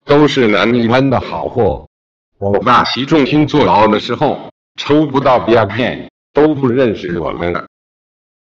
都是南泥湾的好货。我爸习仲勋坐牢的时候，抽不到鸦片，都不认识我们了。